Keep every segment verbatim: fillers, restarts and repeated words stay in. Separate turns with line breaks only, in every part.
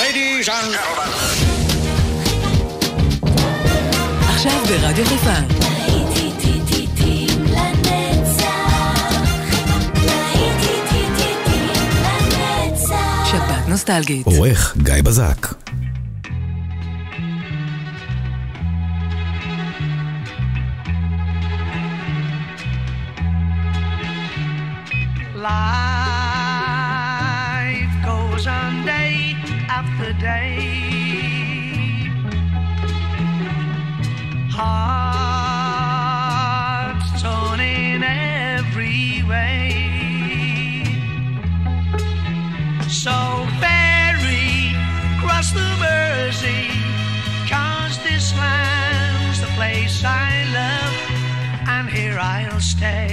Ladies and gentlemen.
עכשיו ברדיו חיפה. שבת נוסטלגית.
עורך גיא בזק.
Life goes on day after day. Hearts torn in every way. So ferry cross the Mersey, 'cause this land's the place I love, and here I'll stay.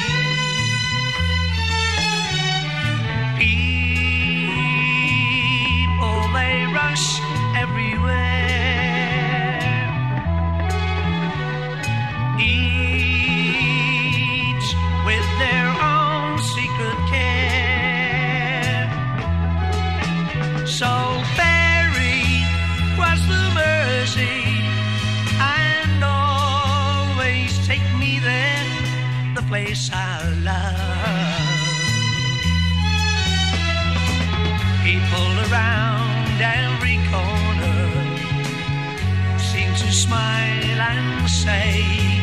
People, they rush everywhere, each with their own secret care. So ferry cross the Mersey and always take me there, the place I love. People around every corner seem to smile and say,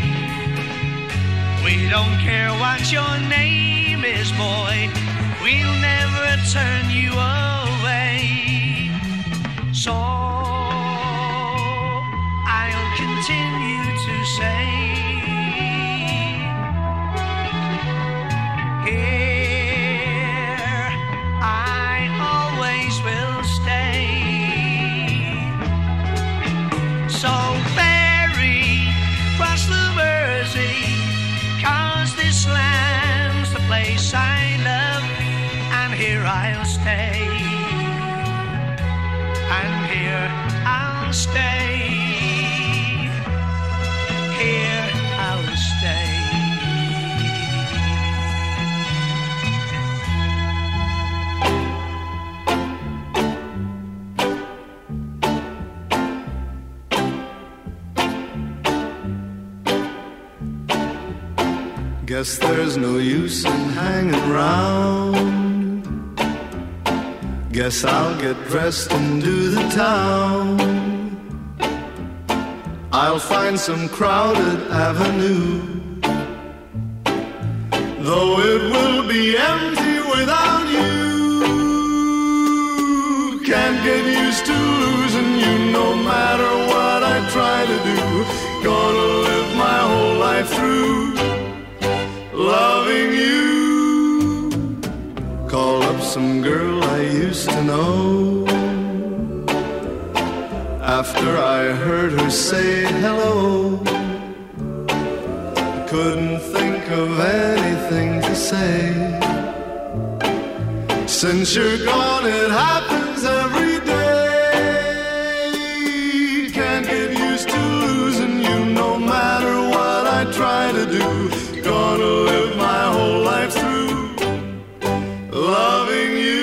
we don't care what your name is, boy, we'll never turn you away. So I'll continue to say, here I always will stay. So ferry cross the Mersey, 'cause this land's the place I love, and here I'll stay, and here I'll stay, here I'll stay.
Guess there's no use in hanging round. Guess I'll get dressed and do the town. I'll find some crowded avenue, though it will be empty without you. Can't get used to losing you no matter what I try to do. Gonna live my whole life through loving you. Call up some girl I used to know, after I heard her say hello. I couldn't think of anything to say. Since you're gone it happens every day. Can't get used to losing you no matter what I try to do. Gonna live my whole life through loving you.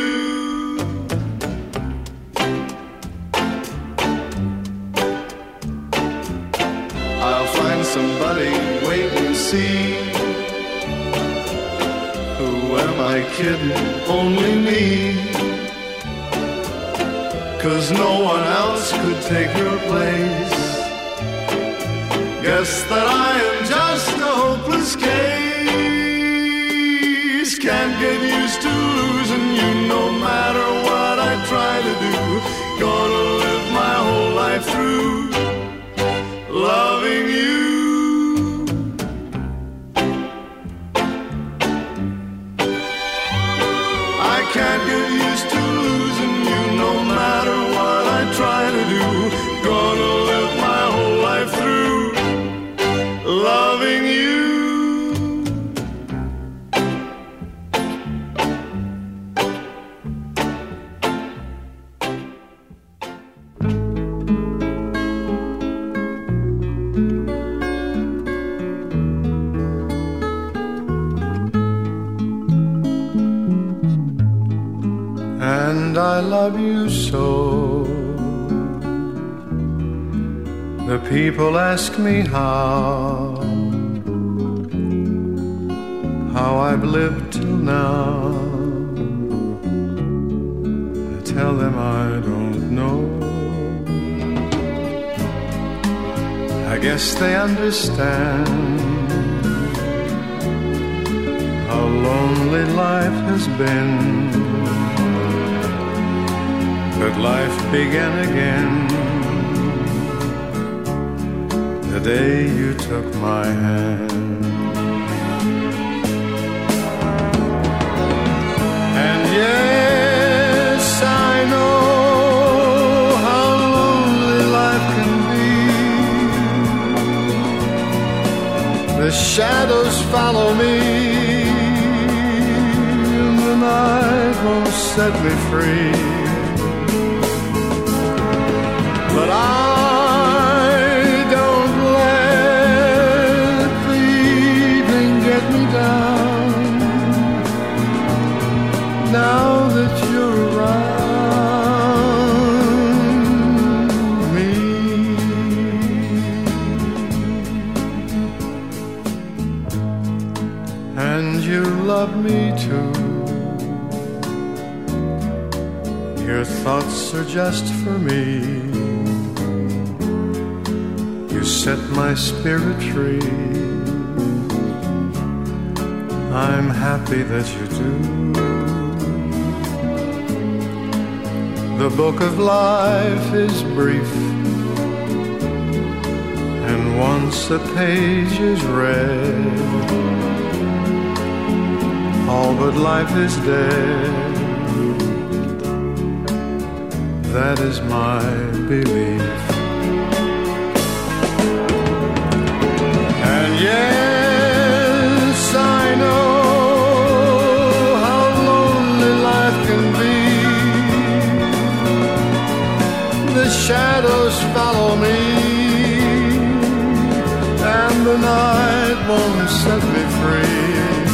I'll find somebody, wait and see. Who am I kidding? Only me. 'Cause no one else could take your place. Guess that I am just a hopeless case. Can't get used to losing you no matter what I try to do. Gonna live my whole life through loving you. I can't get used to losing you no matter what I try to do. Gonna live my whole life through loving you. I love you so. The people ask me how, how I've lived till now. I tell them I don't know. I guess they understand how lonely life has been. But life began again the day you took my hand. And yes, I know how lonely life can be. The shadows follow me, and the night won't set me free. But I don't let the evening get me down. Now that you're around me, and you love me too. Your thoughts are just for me. You set my spirit free. I'm happy that you do. The book of life is brief, and once a page is read, all but life is dead. That is my belief. And yes, I know how lonely life can be. The shadows follow me, and the night won't set me free.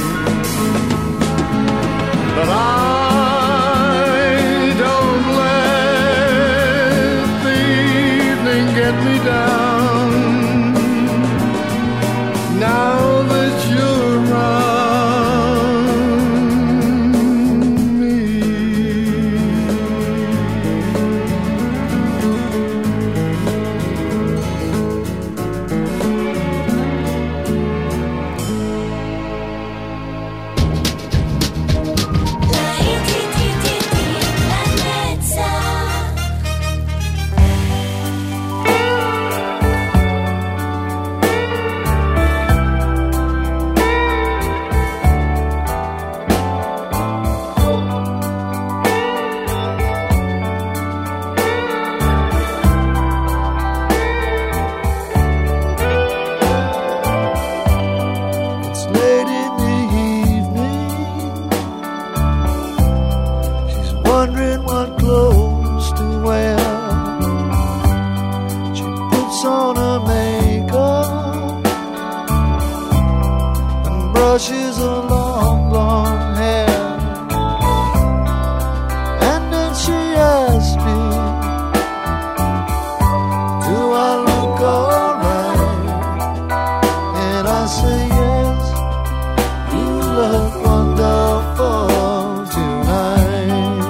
But I don't let the evening get me down. Now that you're around me.
Brushes her long, long hair, and then she asked me, do I look alright? And I say yes, you look wonderful tonight.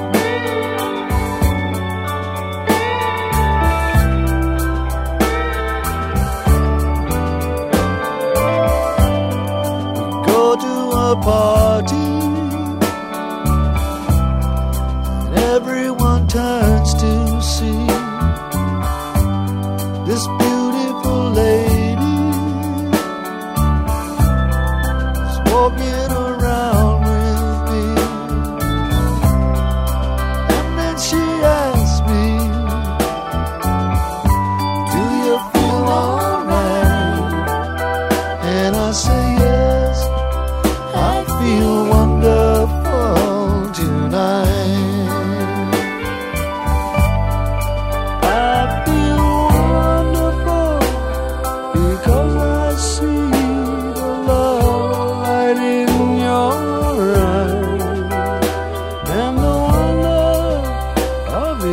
Go to a party, and everyone turns to see this beautiful lady is walking around with me. And then she asked me, do you feel alright? And I say yes, I feel wonderful tonight.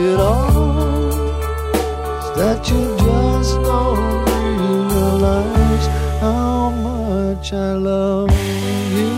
it all is that you just don't realize how much I love you.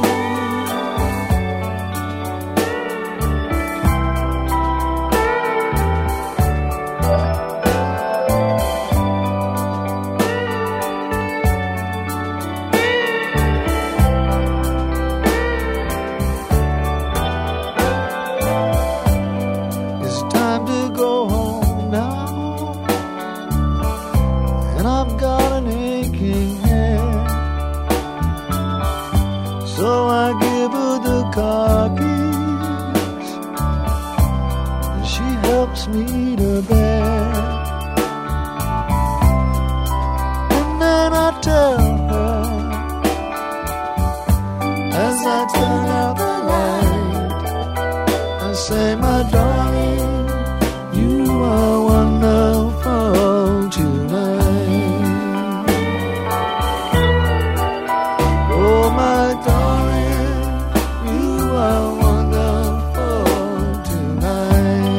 Me to bed, and then I tell her as I turn out the light, I say, my darling, you are wonderful tonight. Oh, my darling, you are wonderful tonight.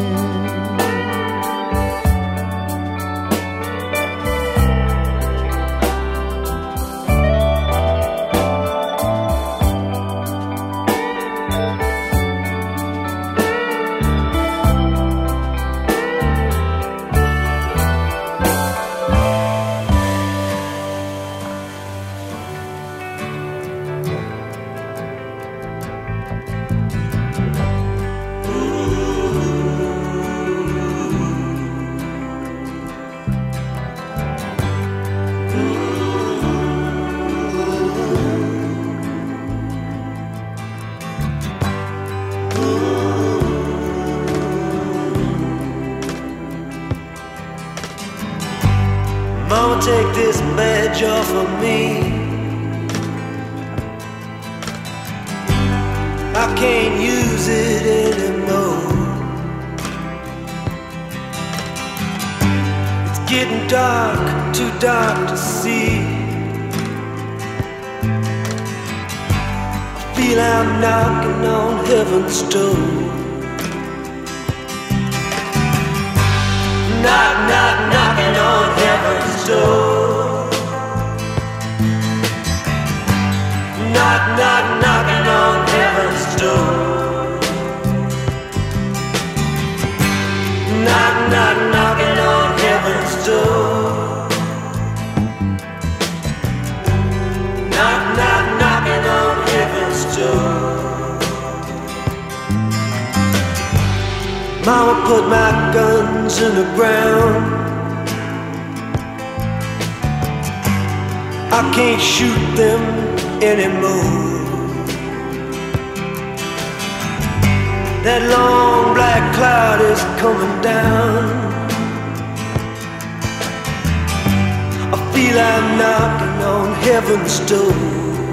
Mama, take this badge off of me. I can't use it anymore. It's getting dark, too dark to see. I feel I'm knocking on heaven's door. Knock, knock, knocking on heaven's door. Knock, knock, knocking on heaven's door. Knock, knock, knocking on heaven's door. Knock, knock, knocking on heaven's door. Mama put my guns in the ground. I can't shoot them anymore. That long black cloud is coming down. I feel I'm knocking on heaven's door.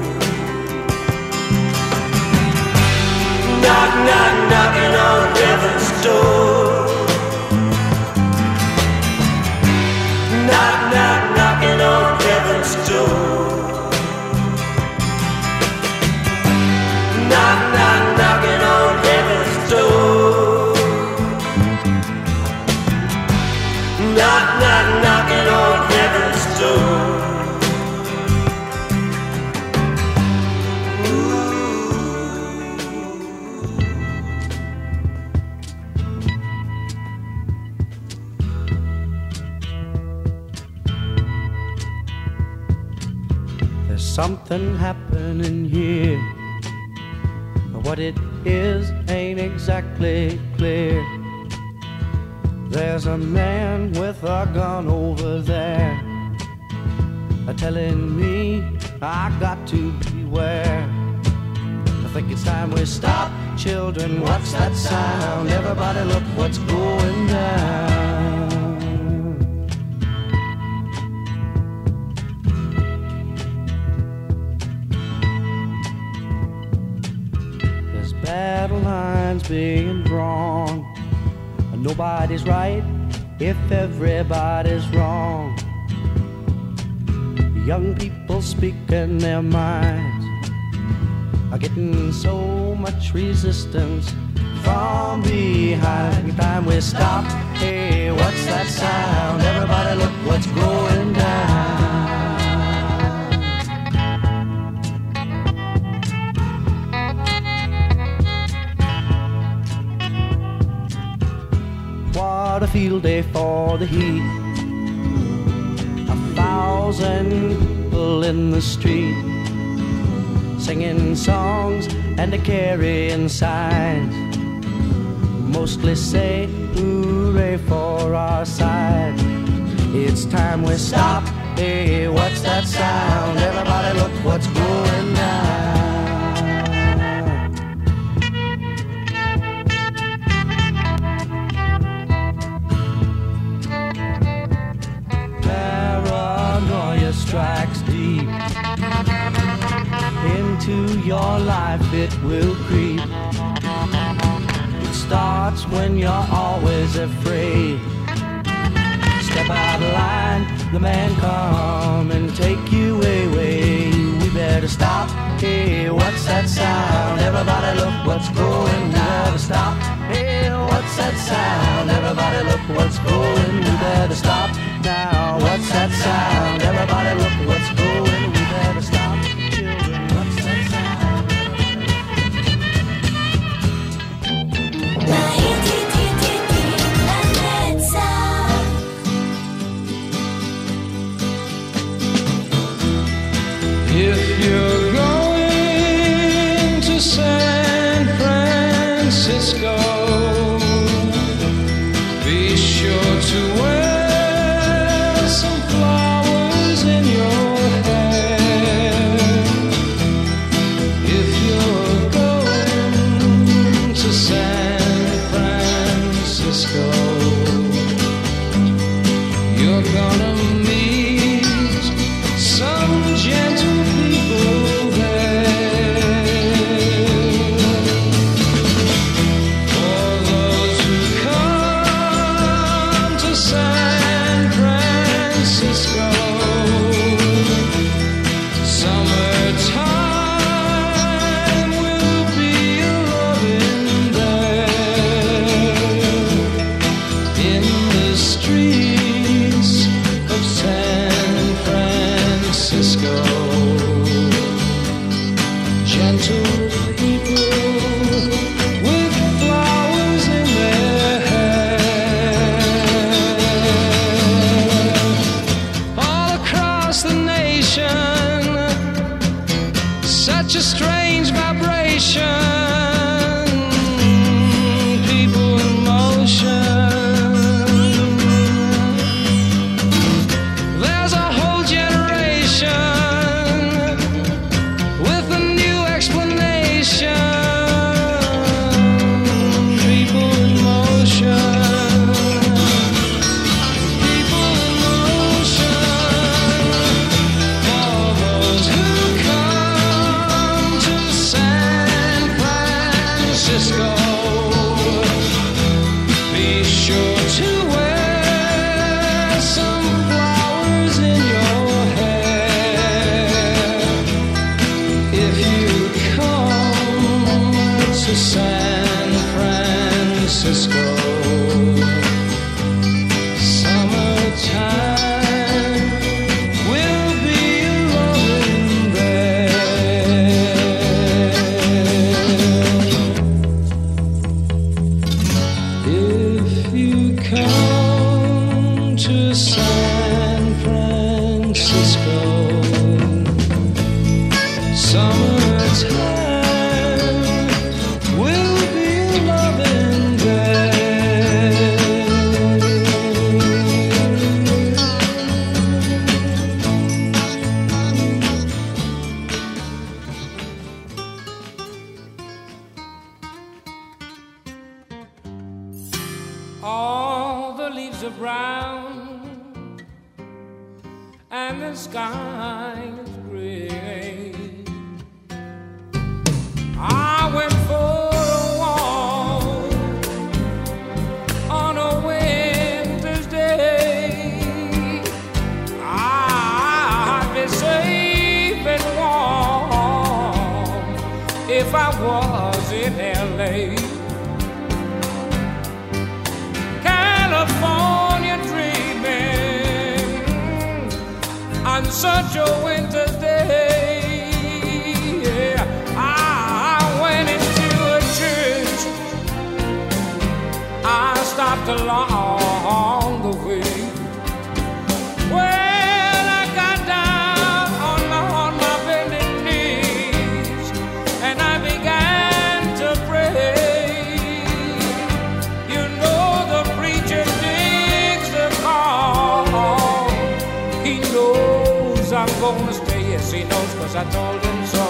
Knock, knock, knocking on heaven's door. Knock, knock, knocking on heaven's door. Knock, knock, knocking on heaven's door. Knock, knock, knocking on heaven's door.
Something happening here. What it is ain't exactly clear. There's a man with a gun over there, telling me I got to beware. I think it's time we stop. Children, what's that sound? Everybody look what's going down. There's battle lines being drawn. Nobody's right if everybody's wrong. Young people speaking their minds are getting so much resistance from behind. Time we stop. Hey, what's that sound? Everybody look what's going down. What a field day for the heat. A thousand people in the street, singing songs and a carrying signs. Mostly say hooray for our side. It's time we stop. Hey, what's that sound? Everybody look what's going down. Paranoia strikes deep into your life, it will creep. It starts when you're always afraid. Step out of line, the man come and take you away. We better stop. Hey, what's that sound? Everybody look what's going. We better stop. Hey, what's that sound? Everybody look what's going. We better stop now. What's that sound? Everybody look what's going. We better stop. Children, what's that sound?
If you're going to San Francisco, be sure to wear some flowers in your hair. If you're going to San Francisco, you're gonna meet some gentle people there. For those who come to San Francisco, summertime will be a loving there. In the streets of San Francisco, gentle people with flowers in their hair. All across the nation, such a strange vibration. People in motion. There's a whole generation with a new explanation. People in motion. People in motion. For those who come to San Francisco, be sure to wear some flowers in your hair. If you come to San Francisco, summertime will be loving there. If you come to San Francisco, summertime will be loving there.
All the leaves are brown and the sky is gray. I went for a walk on a winter's day. I'd be safe and warm if I was in L A. such a winter's day. Yeah, I went into a church. I stopped along the way. Well, I got down on my, on my bended knees and I began to pray. You know the preacher digs the call. He knows I'm gonna stay. Yes, he knows, 'cause I told him so.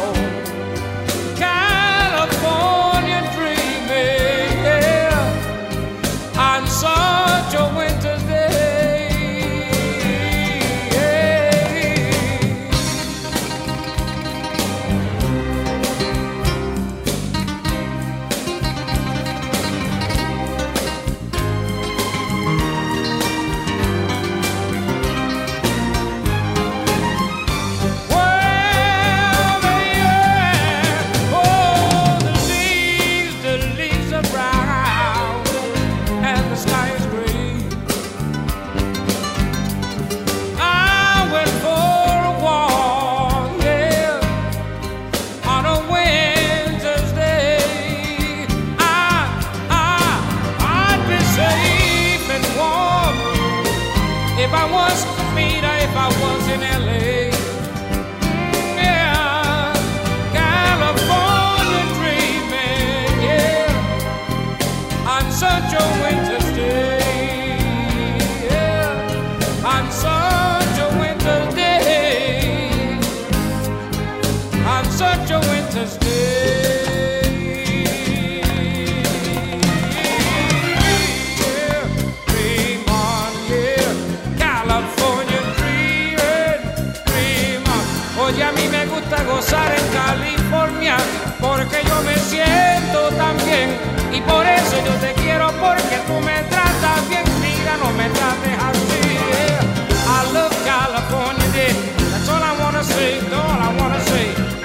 California dreaming, yeah, on such a winter's day. If I was me, if I was in L A, mm, yeah, California dreaming, yeah, on such a winter's day, yeah, on such a winter's day, on such a winter's day. Oye, a mí me gusta gozar en California porque yo me siento tan bien y por eso yo te quiero porque tú me tratas bien. Mira, no me trates así. Yeah. I love California, yeah. That's all I wanna say, all I wanna say.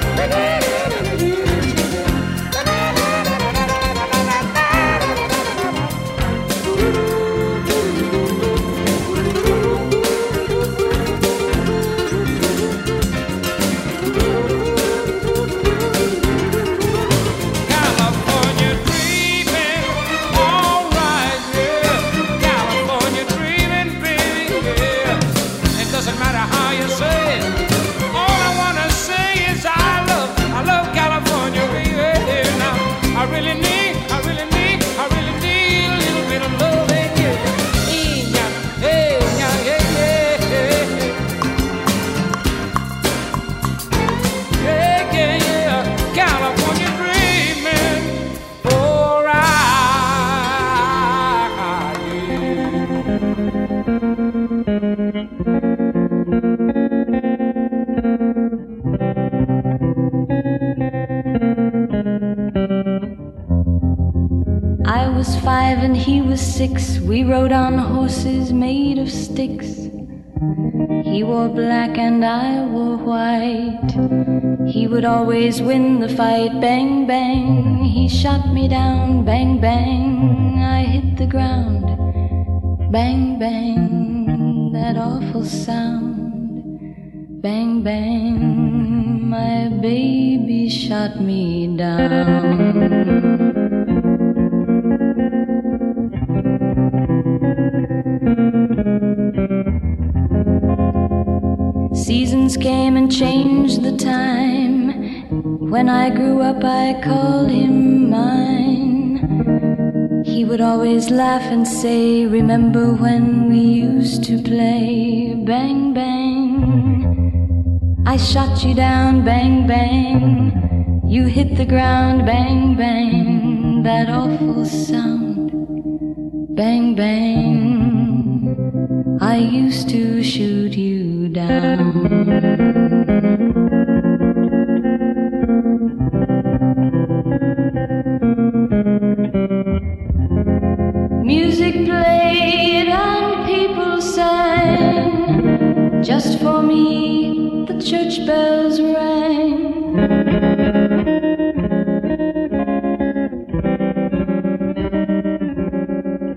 I was five and he was six. We rode on horses made of sticks. He wore black and I wore white. He would always win the fight. Bang, bang, he shot me down. Bang, bang, I hit the ground. Bang, bang, that awful sound. Bang, bang, my baby shot me down. Seasons came and changed the time. When I grew up I called him mine. He would always laugh and say, remember when we used to play? Bang, bang, I shot you down. Bang, bang, you hit the ground. Bang, bang, that awful sound. Bang, bang, I used to shoot you down. Music played and people sang. Just for me the church bells rang.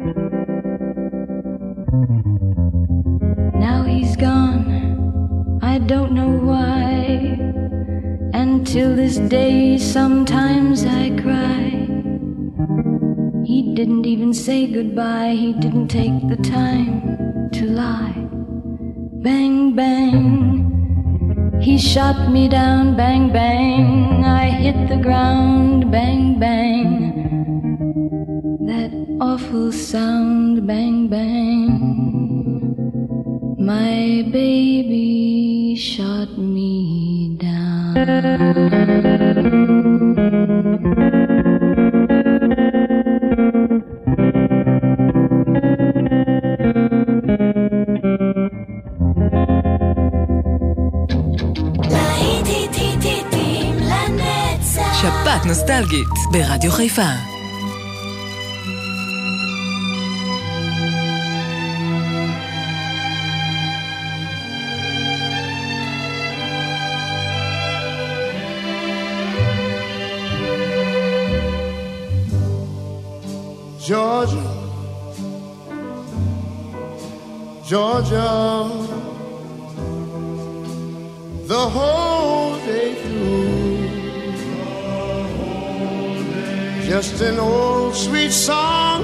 Now he's gone, I I don't know why. And till this day sometimes I cry. He didn't even say goodbye. He didn't take the time to lie. Bang, bang. He shot me down. Bang, bang. I hit the ground. Bang, bang. That awful sound. Bang, bang. My baby shot me down.
שפעת נוסטלגית ברדיו חיפה.
Georgia, Georgia, the whole day through, just an old sweet song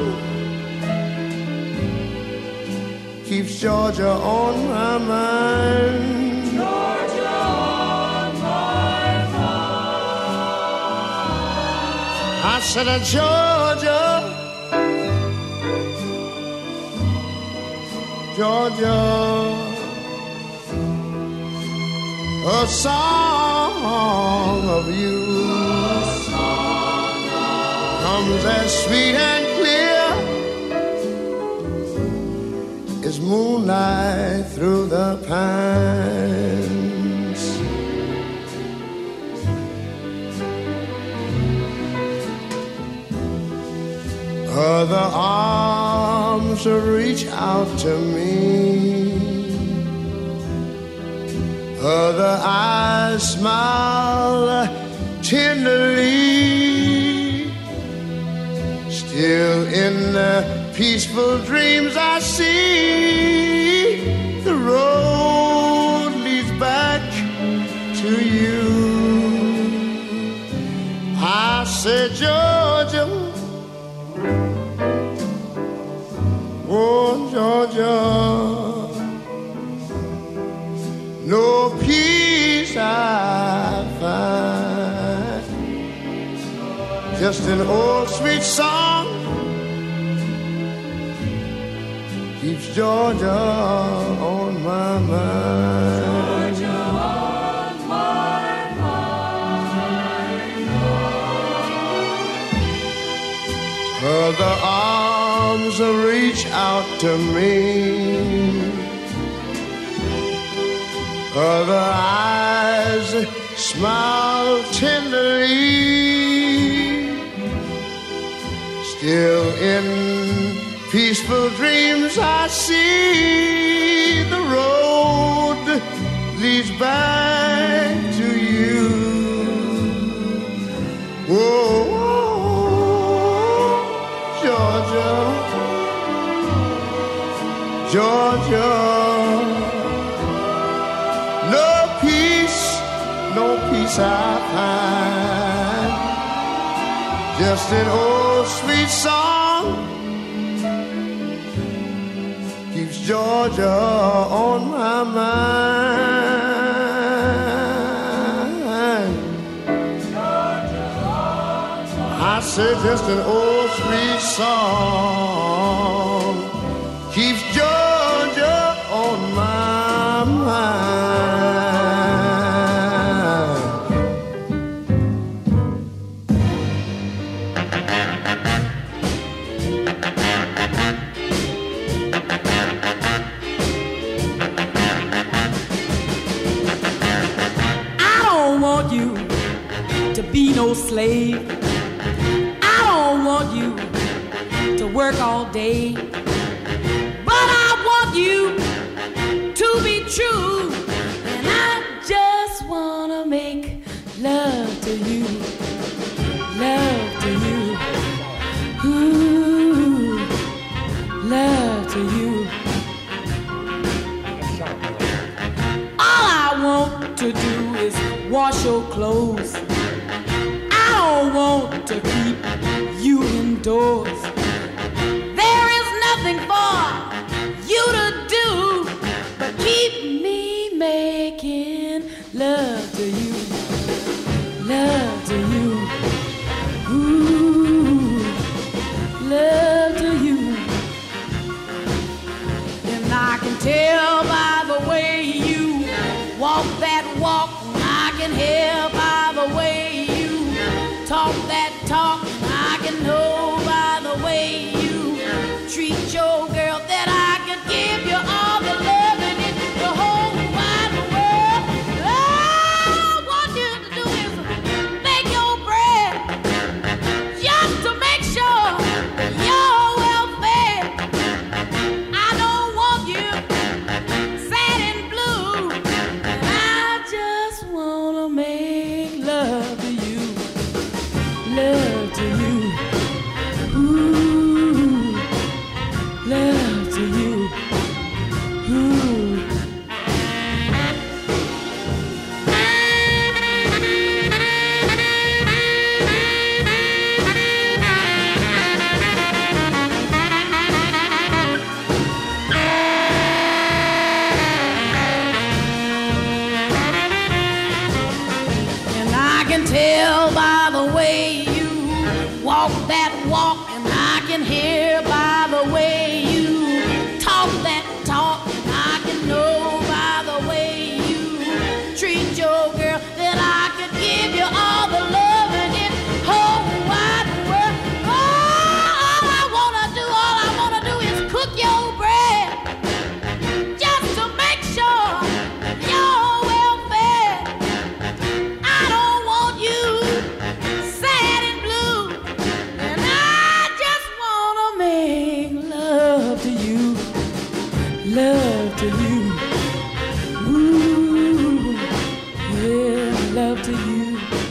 keeps Georgia on my mind. Georgia on my mind. I said, uh, Georgia, Georgia, a song of you song of comes as sweet and clear as moonlight through the pines. Other arms reach out to me, other eyes smile tenderly. Still in the peaceful dreams I see the road leads back to you. I said, Georgia, oh, Georgia, no peace I find, just an old sweet song keeps Georgia on my mind. Georgia on my mind. Other arms reach out to me, other eyes smile tenderly. Still in peaceful dreams I see the road leads back to you. Whoa, Georgia, Georgia, no peace, no peace I find, just an old sweet song keeps Georgia on my mind. Georgia on my I say just an old sweet song keeps Georgia on my mind.
Be no slave. I don't want you to work all day, but I want you to be true, and I just wanna make love to you, love to you, ooh, love to you. All I wash your clothes. I don't want to keep you indoors. There is nothing for you to do but keep me making love to you, love to you, ooh, love to you. And I can tell by the way you walk that walk, I can hear by the way you talk that talk, I can know by the way you treat your girl that I could give you all the love in it, the whole wide world. All I want you to do is make your bread, just to make sure you're well fed. I don't want you sad and blue, and I just wanna make love to you, love to you, ooh, love to you, ooh. And I can tell by the way you walk that walk, and I can hear by the way you talk that talk, and I can know by the way you treat your girl that I could give you all the love in it whole wide world. All I wanna do, all I wanna do is cook your bread, just to make sure you're well fed. I don't want you sad and blue, and I just wanna make love to you, love to you, ooh, yeah, love to you,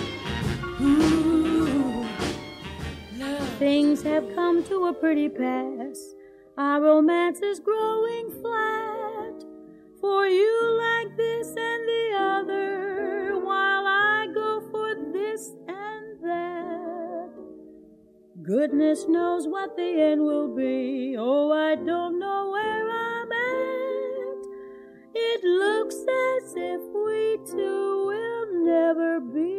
ooh, love.
Things have come to a pretty pass. Our romance is growing flat. For you like this and the other, while I go for this and that. Goodness knows what the end will be. Oh, I don't know where I'm at. It looks as if we two will never be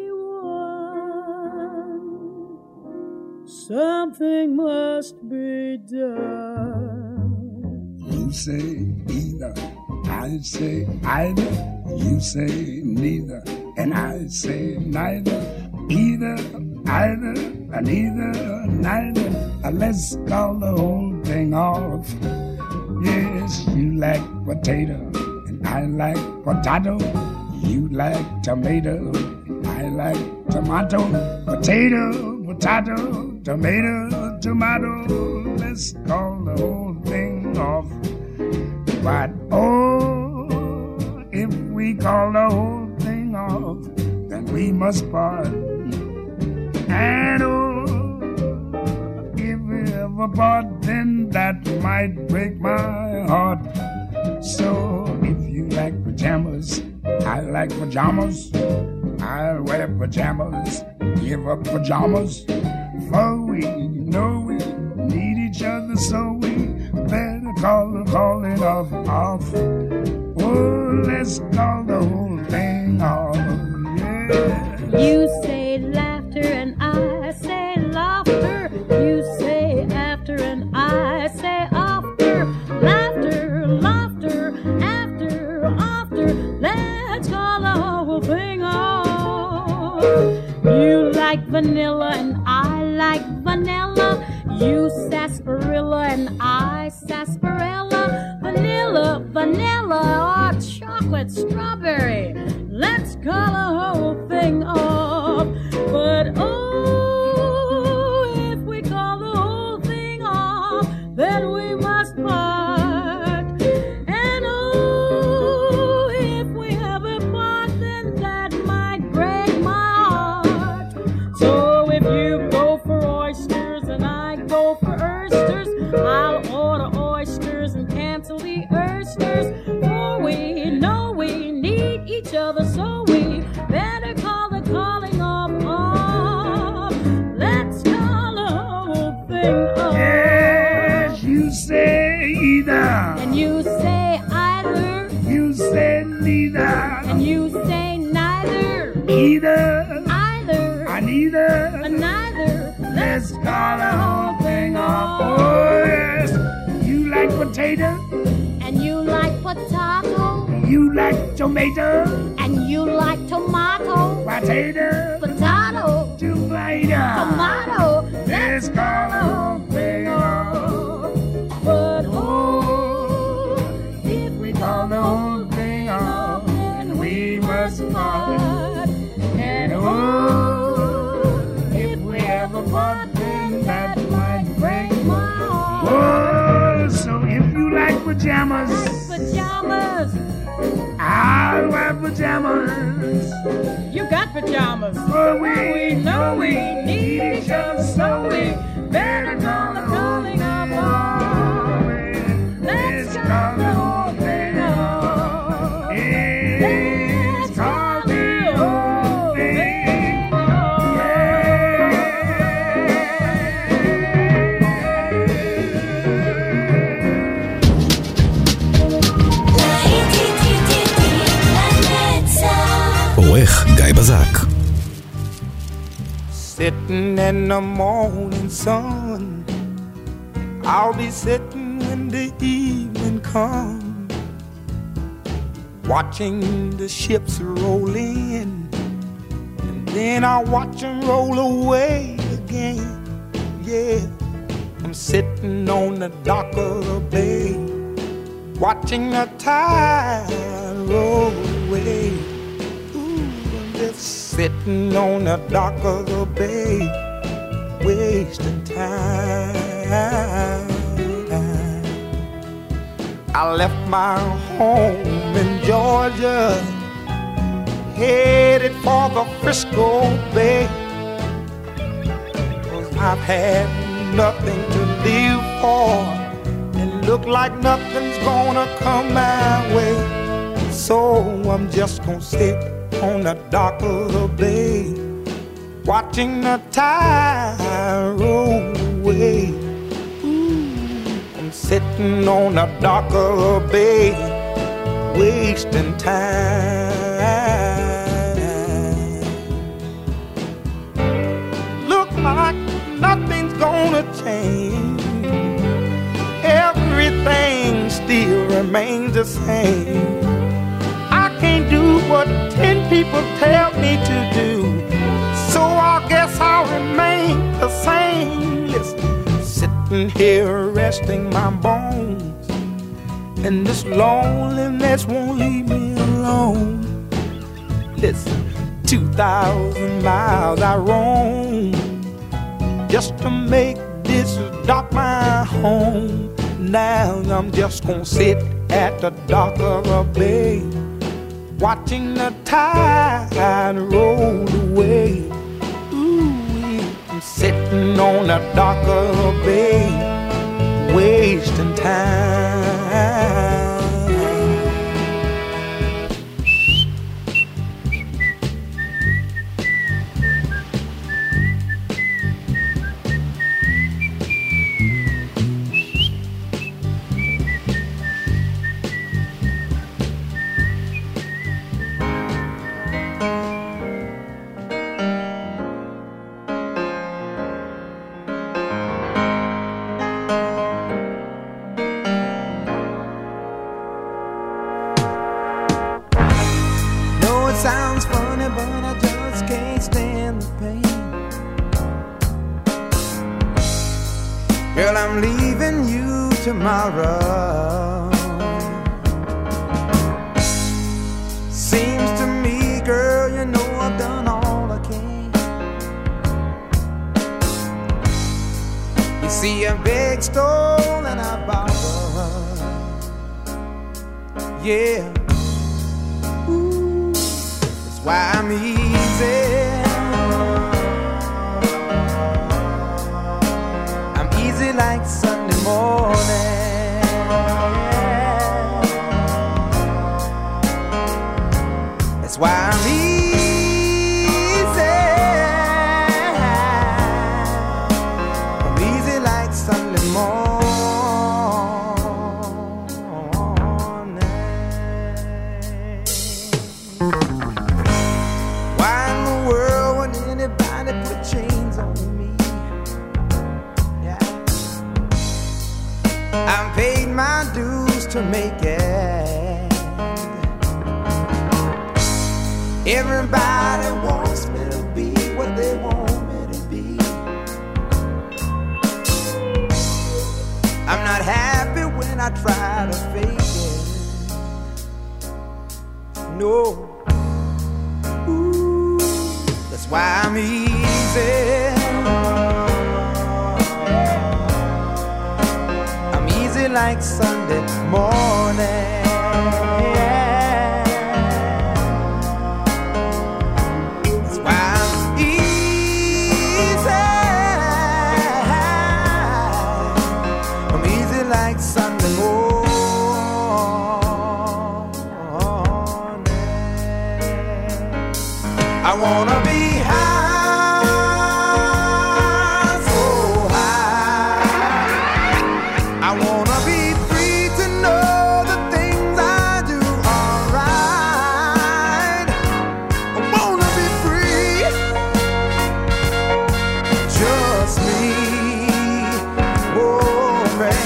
one. Something must be done.
You say either, I say either. You say neither, and I say neither. Either, either, and either, neither. Uh, Let's call the whole thing off. Yes, you like potato, and I like potato. You like tomato, I like tomato. Potato, potato, tomato, tomato. Let's call the whole thing off. But oh, if we call the whole thing off, then we must part. And oh, if we ever part, then that might break my heart. So if you like pajamas, I like pajamas. I'll wear pajamas, give up pajamas. For we know we need each other, so we better call the calling off, off. Oh, let's call the whole thing off, yeah.
You say laughter and I say laughter. You say after and I say after. Laughter, laughter, after, after. Let's call the whole thing off. You like vanilla and I like vanilla. You sarsaparilla and I sarsaparilla. Vanilla, vanilla, or chocolate strawberry. Let's call the whole thing off. But oh, if we call the whole thing off, then we must part. And oh, if we ever part, then that might break my heart. So if you go for oysters and I go for oysters, I'll order oysters and cancel the oysters. For we know we need each other, so we better
either.
And you say either.
You say neither.
And you say neither.
Either.
Either.
I neither.
A neither.
Let's call the whole thing off. Oh yes. You like potato.
And you like potato.
You like tomato.
And you like tomato.
Potato.
Potato.
Tomato.
Tomato.
Let's call the whole thing off.
But oh, if we
call the whole thing off, then we must part. And oh, if we ever part, then that might break my heart. Oh, so if you like pajamas,
pajamas,
I'll wear pajamas.
You got pajamas.
Oh, we,
we know we need each other, so we better call the calling of all. Let's call the whole thing off. Let's call the whole thing off.
עורך גיא בזק.
Sitting in the morning sun, I'll be sitting when the evening comes, watching the ships roll in, and then I'll watch them roll away again. Yeah, I'm sitting on the dock of the bay, watching the tide roll away. Sitting on the dock of the bay, wasting time. I left my home in Georgia, headed for the Frisco Bay, 'cause I've had nothing to live for, and look like nothing's gonna come my way. So I'm just gonna sit on the dock of the bay, watching the tide roll away. Ooh, I'm sitting on the dock of the bay, wasting time. Look like nothing's gonna change, everything still remains the same. Can't do what ten people tell me to do, so I guess I'll remain the same. Listen, sitting here resting my bones, and this loneliness won't leave me alone. Listen, two thousand miles I roam just to make this dock my home. Now I'm just gonna sit at the dock of a bay, watching the tide roll away. Ooh, I'm sitting on the dock of the bay, wasting time. Sounds funny, but I just can't stand the pain. Girl, I'm leaving you tomorrow. Seems to me, girl, you know I've done all I can. You see, I beg, stole, and I borrowed. Yeah. Why I'm easy, I'm easy like Sunday morning. That's why I'm easy, I'm easy like Sunday morning. to make it. Everybody wants me to be what they want me to be. I'm not happy when I try to fake it. No. Ooh, that's why I'm easy. I'm easy like Sunday morning. I wanna be high, so high. I wanna be free to know the things I do are right. I wanna be free, just me, oh man.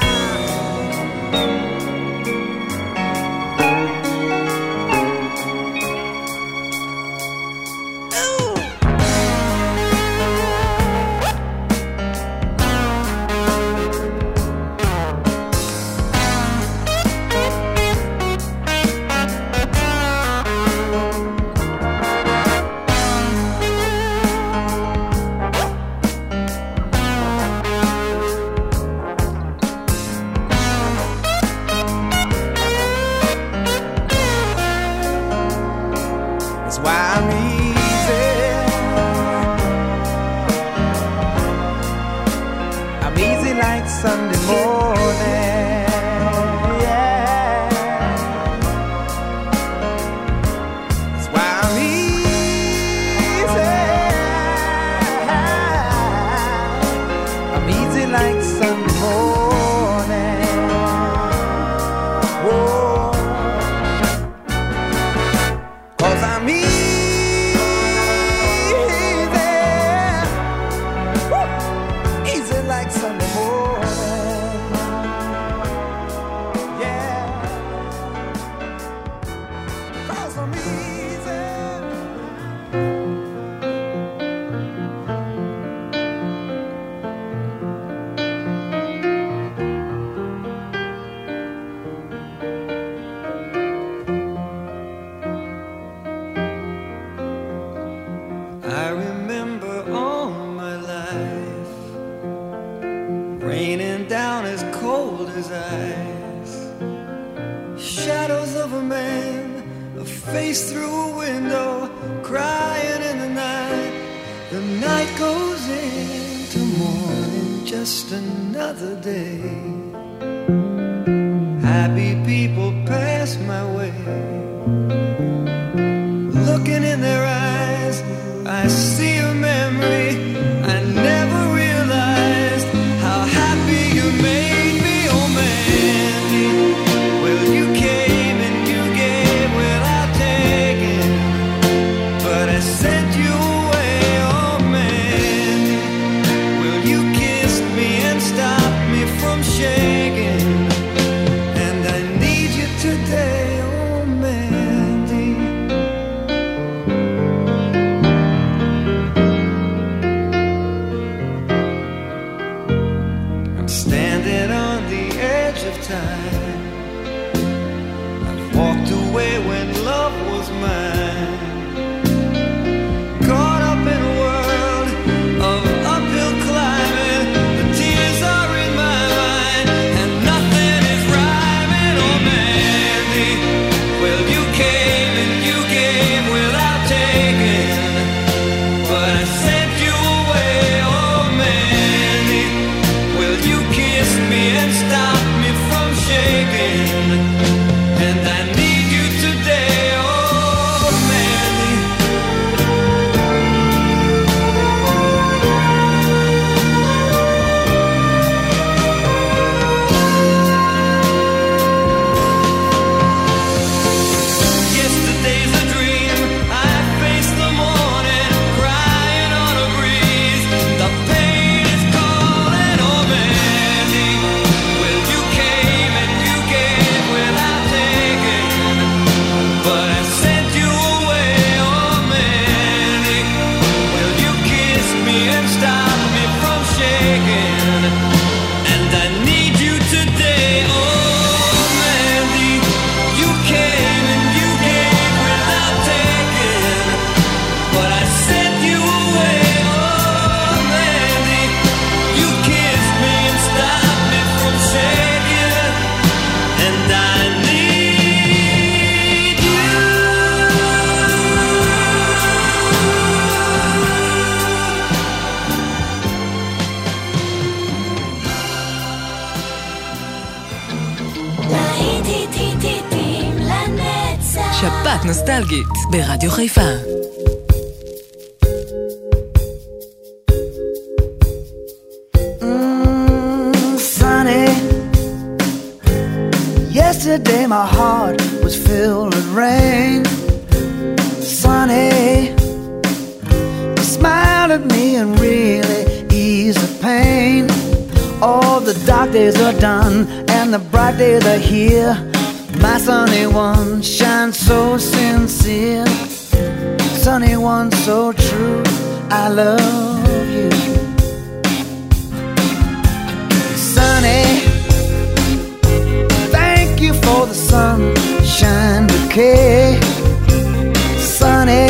Why I'm easy. I'm easy like Sunday morning. Yeah. That's why I'm easy. I'm easy like Sunday morning. Whoa. 'Cause I'm easy.
I remember all my life raining down as cold as ice. Shadows of a man, a face through a window, crying in the night. The night goes into morning, just another day. Happy people pass my way, looking in their eyes. I see a memory. I never realized how happy you made me, oh Mandy. Well, you came and you gave without taking, but I sent you away, oh Mandy. Well, you kissed me and stopped me from shaking, and I need you today, oh Mandy. Standing on the edge of time, I've walked away when love was mine. Caught up in a world of uphill climbing, the tears are in my mind, and nothing is rhyming, oh Mandy. Well, you came and you gave without taking, but I sent you away, oh Mandy. Well, you kissed me and stopped me from shaking, and I need you today, oh man.
שבת נוסטלגית ברדיו חיפה.
Mm, sunny. Yesterday my heart was filled with rain. Sunny, you smiled at me and really eased the pain. All the dark days are done and the bright days are here. My sunny one shines so sincere. Sunny one so true, I love you. Sunny, thank you for the sunshine bouquet. Sunny,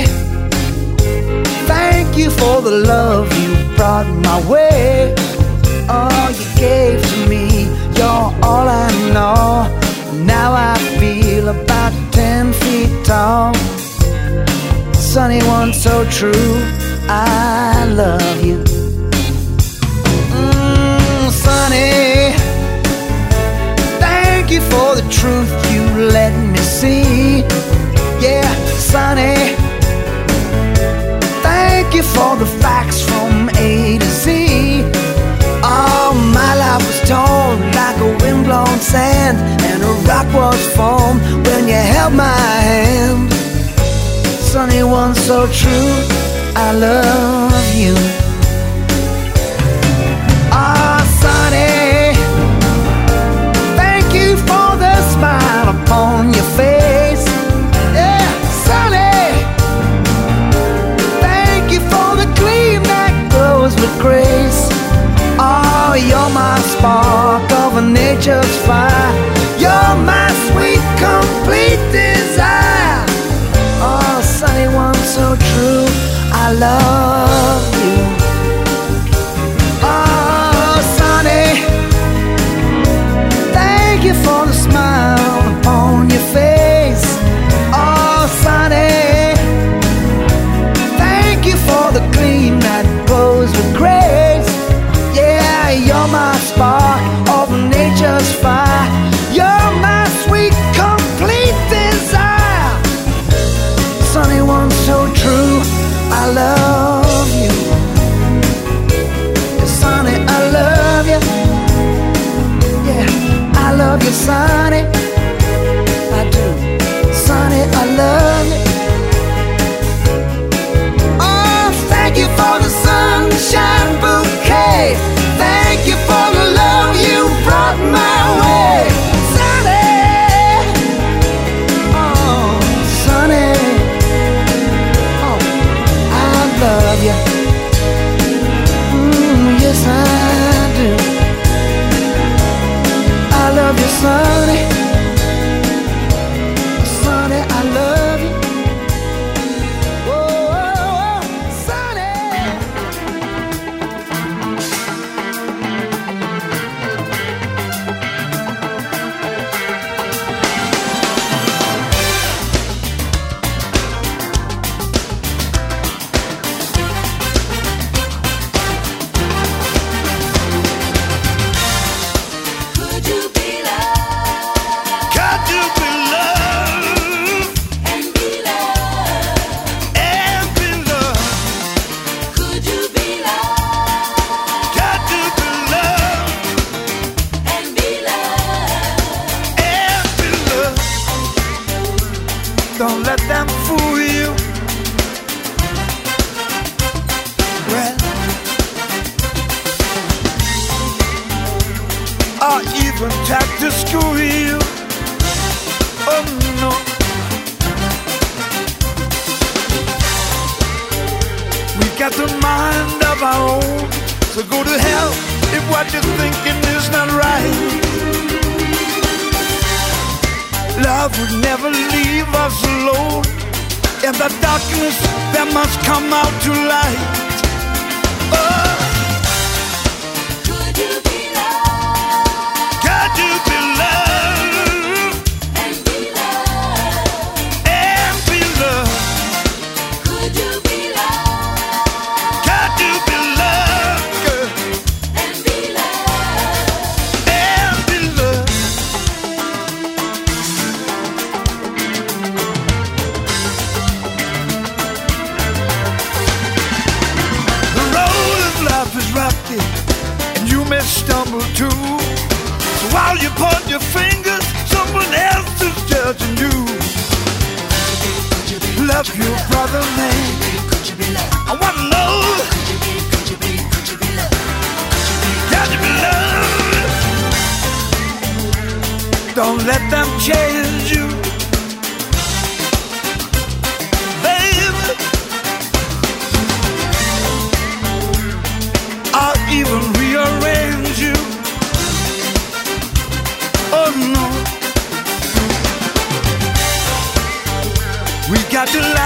thank you for the love you brought my way. All you gave to me, you're all I know. Now I feel about ten feet tall. Sunny one so true, I love you. Mm, sunny, thank you for the truth you let me see. Yeah, sunny, thank you for the facts from A to Z. All my life was torn like a windblown sand, and a rock was formed when you held my hand. Sunny one so true, I love you. Ah, sunny, thank you for the smile upon your face. Yeah, sunny, thank you for the gleam that glows with grace. Oh, you're my spark of a nature's fire. You're my sweet, complete desire. Oh, sunny one so true, I love you. Oh, sunny, thank you for the smile upon your face. Oh, sunny, thank you for the gleam that glows with grace. Yeah, you're my spark of nature's fire. You're my sweet, complete desire. Sunny one so true, I love you. Yeah, sunny, I love you. Yeah, I love you, sunny. I do. Sunny, I love you. Oh, thank you for the sunshine bouquet. Thank you for the love you brought my way. Sunny, oh, sunny, oh, I love you. Mm, yes, I do. I love you, sunny. Sunny, I love you. Oh, oh, oh, sunny.
Could you be loved? Could you be loved? And be loved? And be loved? Could you be loved? Could you be loved? And be loved? And be loved?
Don't let them fool you. Well, or even try to screw you. Oh no. We got the mind of our own, so go to hell if what you're thinking is not right. Love would never leave us alone. In the darkness there must come out to light. Oh.
Could you be loved?
Could you be loved?
And be loved?
And be loved?
Could you be loved?
Could you be loved, girl?
And be loved?
And be loved? other man?
Could you be love?
I wanna know.
Could you be, could you be, could you be love?
Can you be love? Don't let them change you, baby, or even rearrange you. Oh no, we got to laugh.